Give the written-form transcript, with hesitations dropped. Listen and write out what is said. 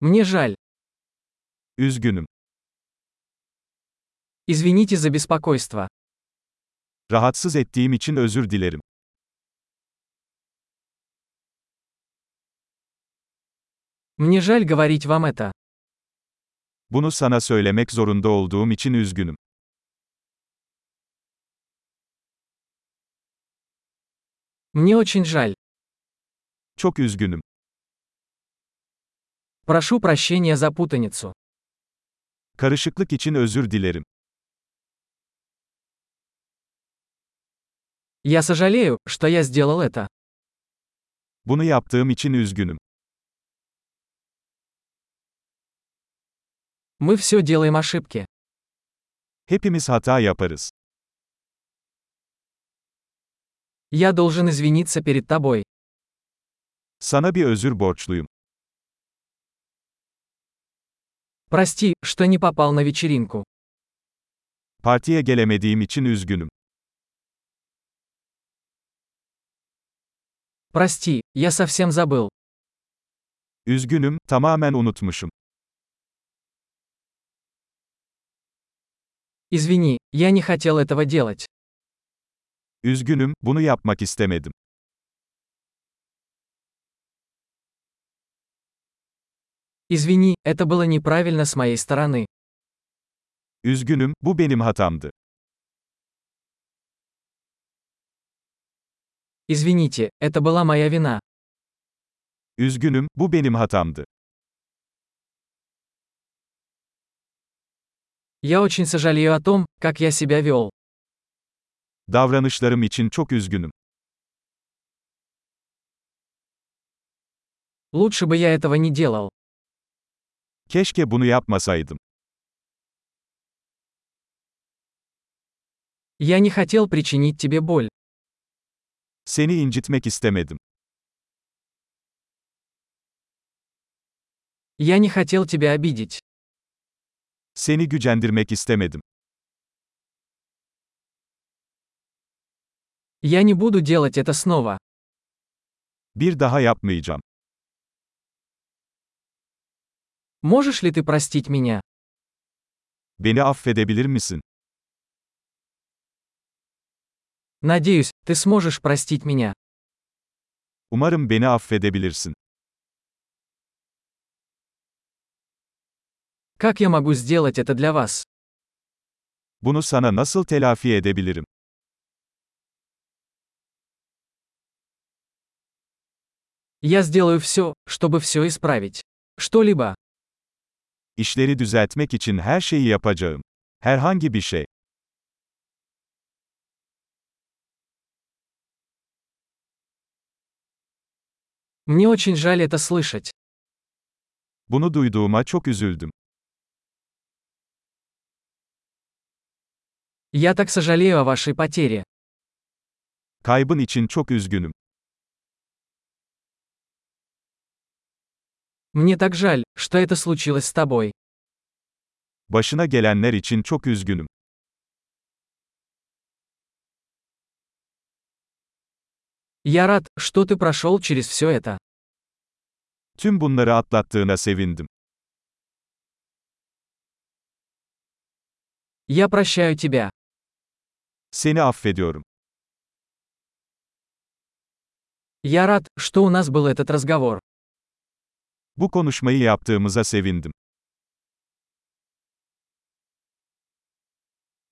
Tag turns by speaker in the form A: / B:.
A: Мне жаль.
B: Üzgünüm.
A: Извините за беспокойство.
B: Rahatsız ettiğim için özür dilerim.
A: Мне жаль говорить вам это.
B: Bunu sana söylemek zorunda olduğum için üzgünüm.
A: Мне очень жаль.
B: Çok üzgünüm.
A: Прошу прощения за путаницу.
B: Karışıklık için özür dilerim.
A: Я сожалею, что я сделал это.
B: Bunu yaptığım için üzgünüm.
A: Мы все делаем ошибки.
B: Hepimiz hata yaparız.
A: Я должен извиниться перед тобой.
B: Sana bir özür borçluyum.
A: Прости, что не попал на вечеринку.
B: Partiye gelemediğim için üzgünüm.
A: Прости, я совсем забыл.
B: Üzgünüm, tamamen unutmuşum.
A: Извини, я не хотел этого делать.
B: Üzgünüm, bunu yapmak istemedim.
A: Извини, это было неправильно с моей стороны.
B: Üzgünüm, bu benim hatamdı.
A: Извините, это была моя вина.
B: Üzgünüm, bu benim hatamdı.
A: Я очень сожалею о том, как я себя вел.
B: Davranışlarım için çok üzgünüm.
A: Лучше бы я этого не делал.
B: Keşke bunu yapmasaydım.
A: Я не хотел причинить тебе боль.
B: Seni incitmek istemedim.
A: Я не хотел тебя обидеть.
B: Seni gücendirmek istemedim.
A: Я не буду делать это снова.
B: Bir daha yapmayacağım.
A: Можешь ли ты простить меня?
B: Beni affedebilir misin?
A: Надеюсь, ты сможешь простить меня.
B: Umarım beni affedebilirsin.
A: Как я могу сделать это для вас?
B: Bunu sana nasıl telafi edebilirim?
A: Я сделаю все, чтобы все исправить. Что-либо.
B: İşleri düzeltmek için her şeyi yapacağım. Herhangi bir şey.
A: Мне очень жаль это слышать.
B: Bunu duyduğuma çok üzüldüm.
A: Я так сожалею о вашей потере.
B: Kaybın için çok üzgünüm.
A: Мне так жаль, что это случилось с тобой.
B: Başına gelenler için çok üzgünüm.
A: Я рад, что ты прошел через все это.
B: Tüm bunları atlattığına sevindim.
A: Я прощаю тебя.
B: Seni affediyorum.
A: Я рад, что у нас был этот разговор.
B: Bu konuşmayı yaptığımıza sevindim.